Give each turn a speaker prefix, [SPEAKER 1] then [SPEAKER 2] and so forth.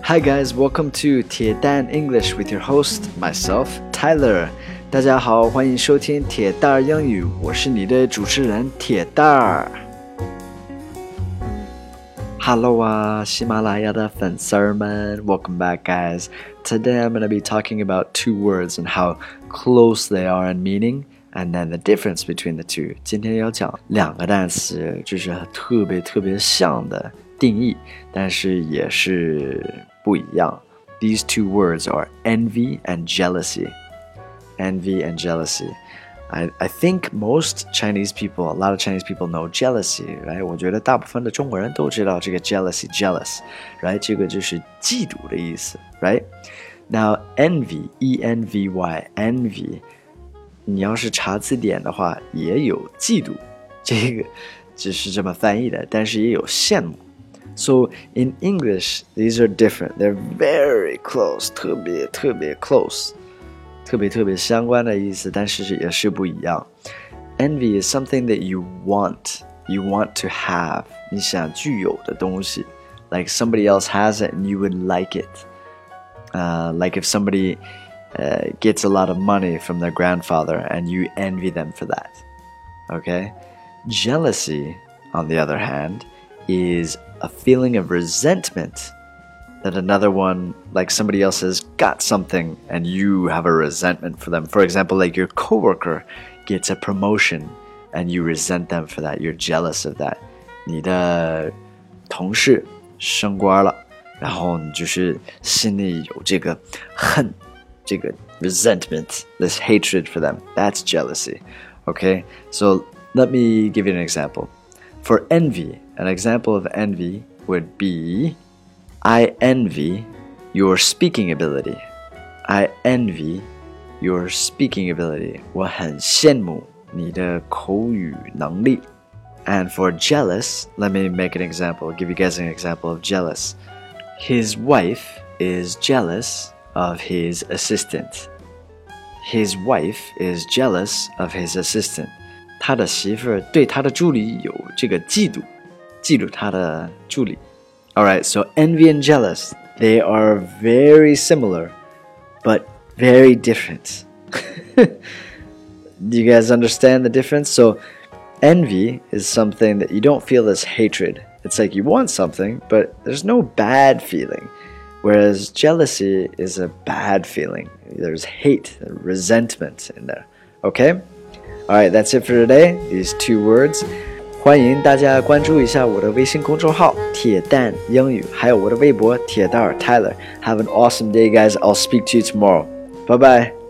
[SPEAKER 1] Hi guys, welcome to 铁蛋 English with your host, myself, Tyler. 大家好，欢迎收听铁蛋儿英语，我是你的主持人铁蛋儿。Hello 啊，喜马拉雅的粉丝们 ，Welcome back, guys. Today I'm going to be talking about two words and how close they are in meaning, and then the difference between the two. 今天要讲两个单词，就是特别像的定义，但是也是不一样。These two words are envy and jealousy. Envy and jealousy.I think most Chinese people, a lot of Chinese people know jealousy, right? 我觉得大部分的中国人都知道这个 jealousy, jealous, right? 这个就是嫉妒的意思 right? Now, envy, E-N-V-Y, envy, 你要是查字典的话，也有嫉妒，这个只是这么翻译的，但是也有羡慕。So, in English, these are different. They're very close, 特别 close.特别相关的意思，但是也是不一样。Envy is something that you want to have. 你想具有的东西 ，like somebody else has it and you would like it. Like if somebody gets a lot of money from their grandfather and you envy them for that. Okay? Jealousy, on the other hand, is a feeling of resentment.That another one, like somebody else has got something and you have a resentment for them. For example, like your coworker gets a promotion and you resent them for that. You're jealous of that. 你的同事升官了，然后你就是心里有这个恨，这个 resentment, this hatred for them. That's jealousy. Okay? So let me give you an example. For envy, an example of envy would be...I envy your speaking ability. I envy your speaking ability. 我很羡慕你的口语能力。And for jealous, let me make an example, give you guys an example of jealous. His wife is jealous of his assistant. His wife is jealous of his assistant. 他的媳妇对他的助理有这个嫉妒他的助理。Alright, so envy and jealous, they are very similar, but very different. Do you guys understand the difference? So envy is something that you don't feel as hatred. It's like you want something, but there's no bad feeling. Whereas jealousy is a bad feeling. There's hate, resentment in there. Okay? Alright, that's it for today. These two words.欢迎大家关注一下我的微信公众号铁蛋英语，还有我的微博铁蛋儿 Tyler. Have an awesome day, guys. I'll speak to you tomorrow. Bye bye.